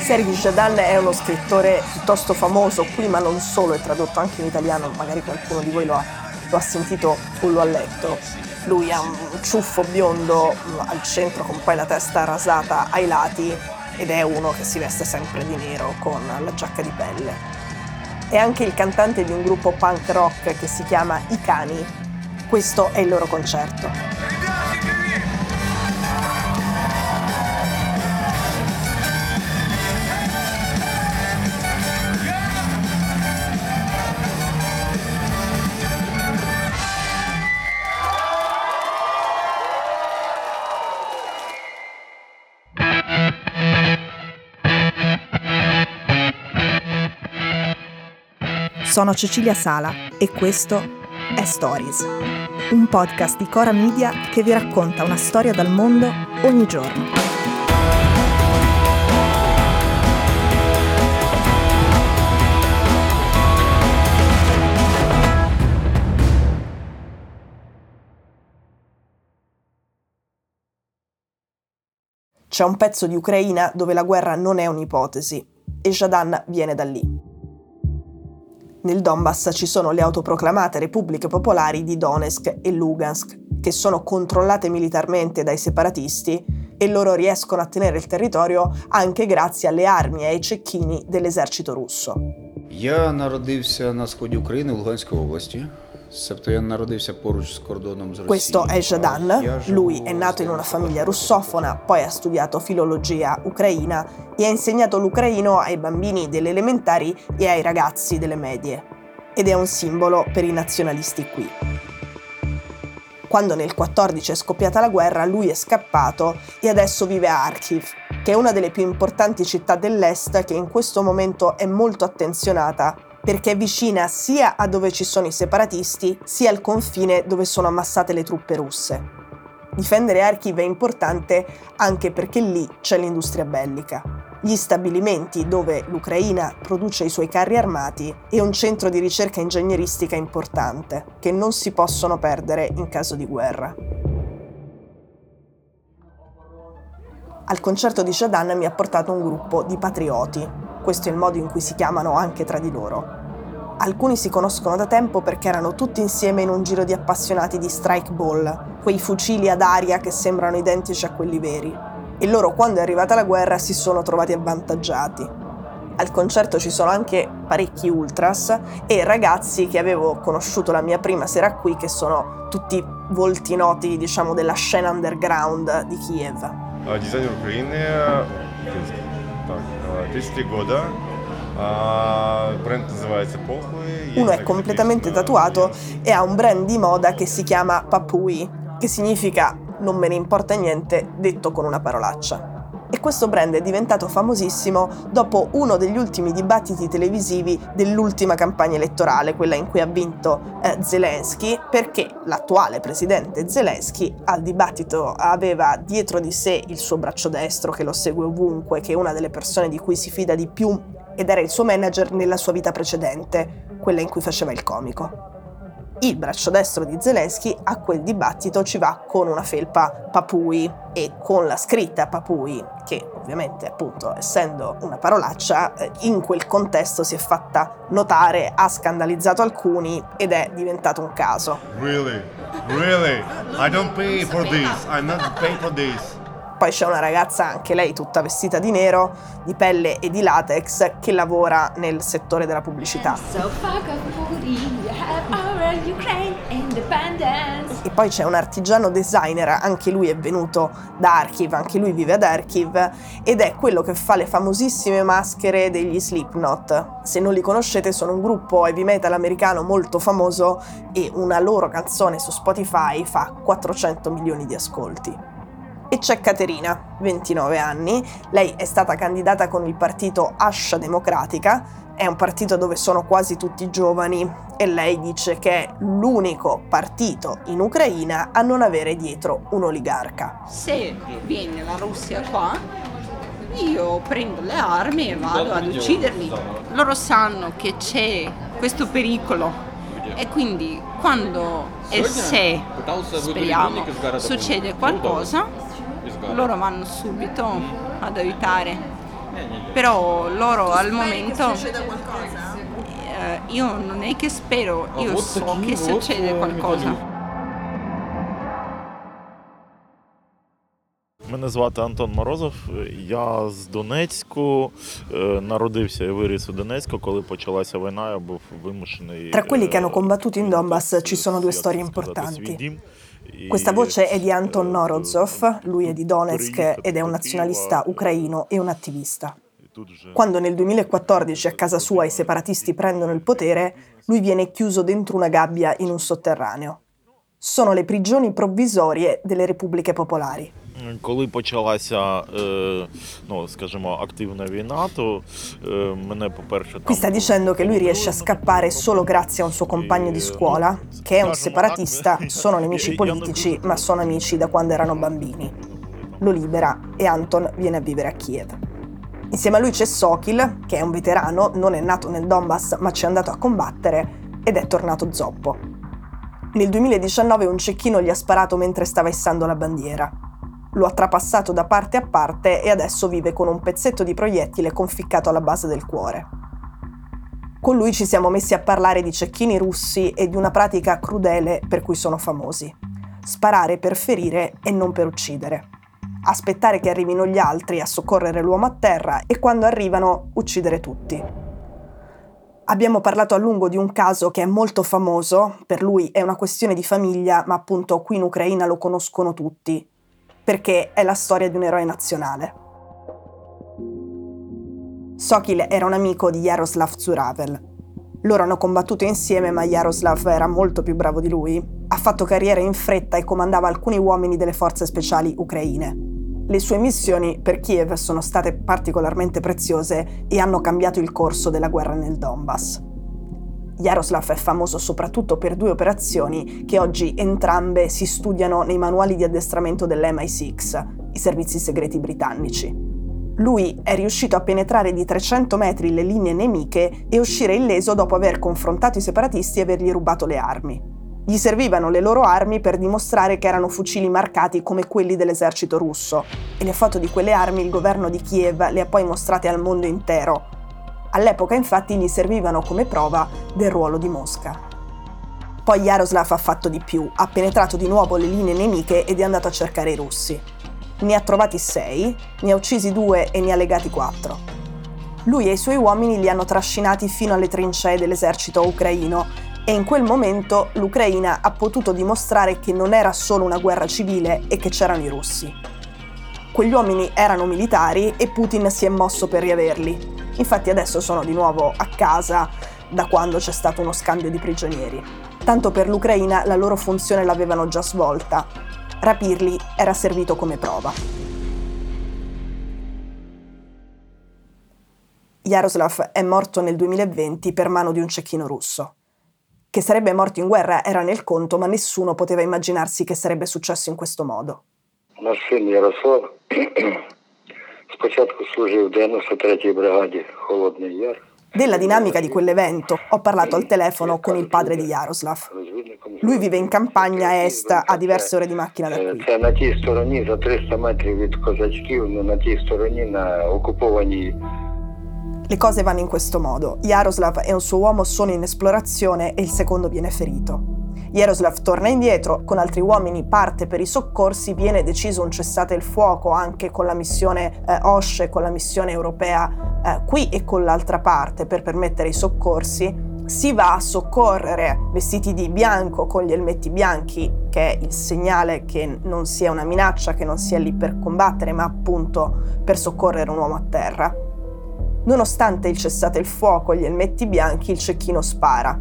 Serhij Zhadan è uno scrittore piuttosto famoso qui, ma non solo, è tradotto anche in italiano, magari qualcuno di voi lo ha sentito o lo ha letto. Lui ha un ciuffo biondo al centro con poi la testa rasata ai lati ed è uno che si veste sempre di nero con la giacca di pelle. È anche il cantante di un gruppo punk rock che si chiama I Cani. Questo è il loro concerto. Sono Cecilia Sala e questo è Stories, un podcast di Cora Media che vi racconta una storia dal mondo ogni giorno. C'è un pezzo di Ucraina dove la guerra non è un'ipotesi e Zhadan viene da lì. Nel Donbass ci sono le autoproclamate repubbliche popolari di Donetsk e Lugansk, che sono controllate militarmente dai separatisti e loro riescono a tenere il territorio anche grazie alle armi e ai cecchini dell'esercito russo. Я народився на сході України, в Луганській області. Себто я народився поруч з кордоном з Росією. Questo è Zhadan, lui è nato in una famiglia russofona, poi ha studiato filologia ucraina e ha insegnato l'ucraino ai bambini delle elementari e ai ragazzi delle medie. Ed è un simbolo per i nazionalisti qui. Quando nel 14 è scoppiata la guerra, lui è scappato e adesso vive a Kharkiv, che è una delle più importanti città dell'est che in questo momento è molto attenzionata perché è vicina sia a dove ci sono i separatisti, sia al confine dove sono ammassate le truppe russe. Difendere Kharkiv è importante anche perché lì c'è l'industria bellica, gli stabilimenti dove l'Ucraina produce i suoi carri armati e un centro di ricerca ingegneristica importante, che non si possono perdere in caso di guerra. Al concerto di Zhadan mi ha portato un gruppo di patrioti. Questo è il modo in cui si chiamano anche tra di loro. Alcuni si conoscono da tempo perché erano tutti insieme in un giro di appassionati di strike ball, quei fucili ad aria che sembrano identici a quelli veri. E loro, quando è arrivata la guerra, si sono trovati avvantaggiati. Al concerto ci sono anche parecchi ultras e ragazzi che avevo conosciuto la mia prima sera qui, che sono tutti volti noti, diciamo, della scena underground di Kiev. Дизайнер Украины, так, 33 года, бренд называется Похуй. Uno è completamente tatuato e ha un brand di moda che si chiama Papui, che significa non me ne importa niente, detto con una parolaccia. E questo brand è diventato famosissimo dopo uno degli ultimi dibattiti televisivi dell'ultima campagna elettorale, quella in cui ha vinto Zelensky, perché l'attuale presidente Zelensky al dibattito aveva dietro di sé il suo braccio destro che lo segue ovunque, che è una delle persone di cui si fida di più ed era il suo manager nella sua vita precedente, quella in cui faceva il comico. Il braccio destro di Zelensky a quel dibattito ci va con una felpa Papui e con la scritta Papui, che ovviamente appunto essendo una parolaccia in quel contesto si è fatta notare, ha scandalizzato alcuni ed è diventato un caso. Really? I don't pay for this. I'm not paying for this. Poi c'è una ragazza, anche lei tutta vestita di nero, di pelle e di latex, che lavora nel settore della pubblicità. E poi c'è un artigiano designer, anche lui è venuto da Kharkiv, anche lui vive ad Kharkiv, ed è quello che fa le famosissime maschere degli Slipknot. Se non li conoscete, sono un gruppo heavy metal americano molto famoso e una loro canzone su Spotify fa 400 milioni di ascolti. E c'è Caterina, 29 anni, lei è stata candidata con il partito Ascia Democratica, è un partito dove sono quasi tutti giovani e lei dice che è l'unico partito in Ucraina a non avere dietro un oligarca. Se viene la Russia qua, io prendo le armi e vado ad ucciderli. Loro sanno che c'è questo pericolo e quindi quando e se, speriamo, succede qualcosa, loro vanno subito ad aiutare. Però loro al momento io non è che spero, io so che succede qualcosa. Мене звати Антон Морозов, я з Донецьку, народився і виріс у Донецьку, коли почалася війна, я був вимушений... Tra quelli che hanno combattuto in Donbass ci sono due storie importanti. Questa voce è di Anton Morozov, lui è di Donetsk ed è un nazionalista ucraino e un attivista. Quando nel 2014 a casa sua i separatisti prendono il potere, lui viene chiuso dentro una gabbia in un sotterraneo. Sono le prigioni provvisorie delle repubbliche popolari. Коли почалася, скажімо, активна війна, то мене, по-перше... Qui sta dicendo che lui riesce a scappare solo grazie a un suo compagno di scuola, che è un separatista, sono nemici politici, ma sono amici da quando erano bambini. Lo libera e Anton viene a vivere a Kiev. Insieme a lui c'è Sokil, che è un veterano, non è nato nel Donbass, ma ci è andato a combattere ed è tornato zoppo. Nel 2019 un cecchino gli ha sparato mentre stava issando la bandiera. Lo ha trapassato da parte a parte e adesso vive con un pezzetto di proiettile conficcato alla base del cuore. Con lui ci siamo messi a parlare di cecchini russi e di una pratica crudele per cui sono famosi. Sparare per ferire e non per uccidere. Aspettare che arrivino gli altri a soccorrere l'uomo a terra e quando arrivano uccidere tutti. Abbiamo parlato a lungo di un caso che è molto famoso, per lui è una questione di famiglia, ma appunto qui in Ucraina lo conoscono tutti, perché è la storia di un eroe nazionale. Sokil era un amico di Jaroslav Zuravel. Loro hanno combattuto insieme, ma Jaroslav era molto più bravo di lui. Ha fatto carriera in fretta e comandava alcuni uomini delle forze speciali ucraine. Le sue missioni per Kiev sono state particolarmente preziose e hanno cambiato il corso della guerra nel Donbass. Jaroslav è famoso soprattutto per due operazioni che oggi entrambe si studiano nei manuali di addestramento dell'MI6, i servizi segreti britannici. Lui è riuscito a penetrare di 300 metri le linee nemiche e uscire illeso dopo aver confrontato i separatisti e avergli rubato le armi. Gli servivano le loro armi per dimostrare che erano fucili marcati come quelli dell'esercito russo e le foto di quelle armi il governo di Kiev le ha poi mostrate al mondo intero. All'epoca infatti gli servivano come prova del ruolo di Mosca. Poi Jaroslav ha fatto di più, ha penetrato di nuovo le linee nemiche ed è andato a cercare i russi. Ne ha trovati 6, ne ha uccisi 2 e ne ha legati 4. Lui e i suoi uomini li hanno trascinati fino alle trincee dell'esercito ucraino e in quel momento l'Ucraina ha potuto dimostrare che non era solo una guerra civile e che c'erano i russi. Quegli uomini erano militari e Putin si è mosso per riaverli. Infatti adesso sono di nuovo a casa da quando c'è stato uno scambio di prigionieri. Tanto per l'Ucraina la loro funzione l'avevano già svolta. Rapirli era servito come prova. Jaroslav è morto nel 2020 per mano di un cecchino russo. Che sarebbe morto in guerra era nel conto, ma nessuno poteva immaginarsi che sarebbe successo in questo modo. Наш син Ярослав спочатку служив в 93-й бригаді Холодний Яр. Della dinamica di quell'evento ho parlato al telefono con il padre di Jaroslav. Lui vive in campagna a est, a diverse ore di macchina da qui. Це на тій стороні, за 300 метрів від козачків, на тій стороні, на окупованій. Le cose vanno in questo modo. Jaroslav e un suo uomo sono in esplorazione e il secondo viene ferito. Jaroslav torna indietro, con altri uomini parte per i soccorsi, viene deciso un cessate il fuoco anche con la missione OSCE, con la missione europea qui e con l'altra parte per permettere i soccorsi. Si va a soccorrere vestiti di bianco con gli elmetti bianchi, che è il segnale che non sia una minaccia, che non sia lì per combattere, ma appunto per soccorrere un uomo a terra. Nonostante il cessate il fuoco e gli elmetti bianchi, il cecchino spara.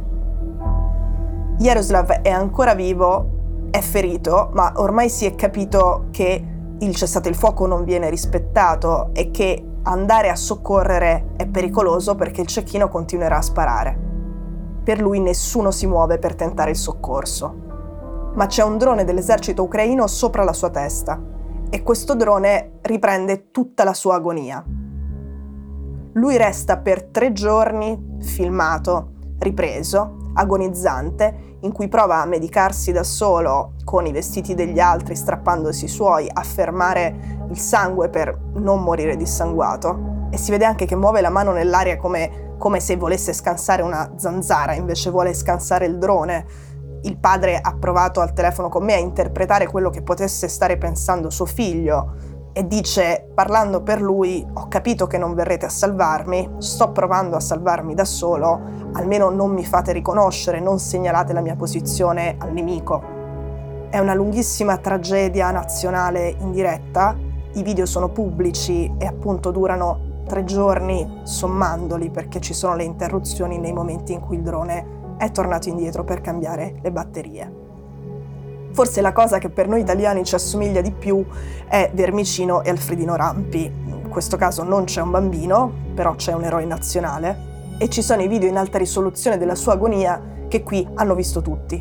Jaroslav è ancora vivo, è ferito, ma ormai si è capito che il cessate il fuoco non viene rispettato e che andare a soccorrere è pericoloso perché il cecchino continuerà a sparare. Per lui nessuno si muove per tentare il soccorso. Ma c'è un drone dell'esercito ucraino sopra la sua testa e questo drone riprende tutta la sua agonia. Lui resta per 3 giorni filmato, ripreso, agonizzante, in cui prova a medicarsi da solo con i vestiti degli altri, strappandosi i suoi, a fermare il sangue per non morire dissanguato. E si vede anche che muove la mano nell'aria come se volesse scansare una zanzara, invece vuole scansare il drone. Il padre ha provato al telefono con me a interpretare quello che potesse stare pensando suo figlio e dice, parlando per lui: ho capito che non verrete a salvarmi, sto provando a salvarmi da solo, almeno non mi fate riconoscere, non segnalate la mia posizione al nemico. È una lunghissima tragedia nazionale in diretta, i video sono pubblici e appunto durano 3 giorni sommandoli, perché ci sono le interruzioni nei momenti in cui il drone è tornato indietro per cambiare le batterie. Forse la cosa che per noi italiani ci assomiglia di più è Vermicino e Alfredino Rampi. In questo caso non c'è un bambino, però c'è un eroe nazionale, e ci sono i video in alta risoluzione della sua agonia che qui hanno visto tutti.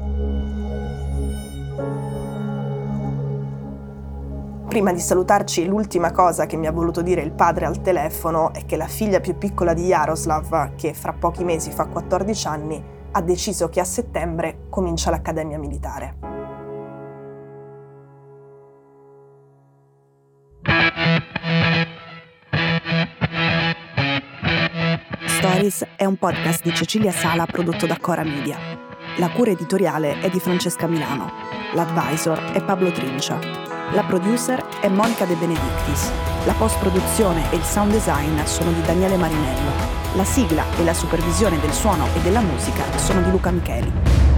Prima di salutarci, l'ultima cosa che mi ha voluto dire il padre al telefono è che la figlia più piccola di Jaroslav, che fra pochi mesi fa 14 anni, ha deciso che a settembre comincia l'accademia militare. Stories è un podcast di Cecilia Sala prodotto da Cora Media. La cura editoriale è di Francesca Milano. L'advisor è Pablo Trincia. La producer è Monica De Benedictis. La post-produzione e il sound design sono di Daniele Marinello. La sigla e la supervisione del suono e della musica sono di Luca Micheli.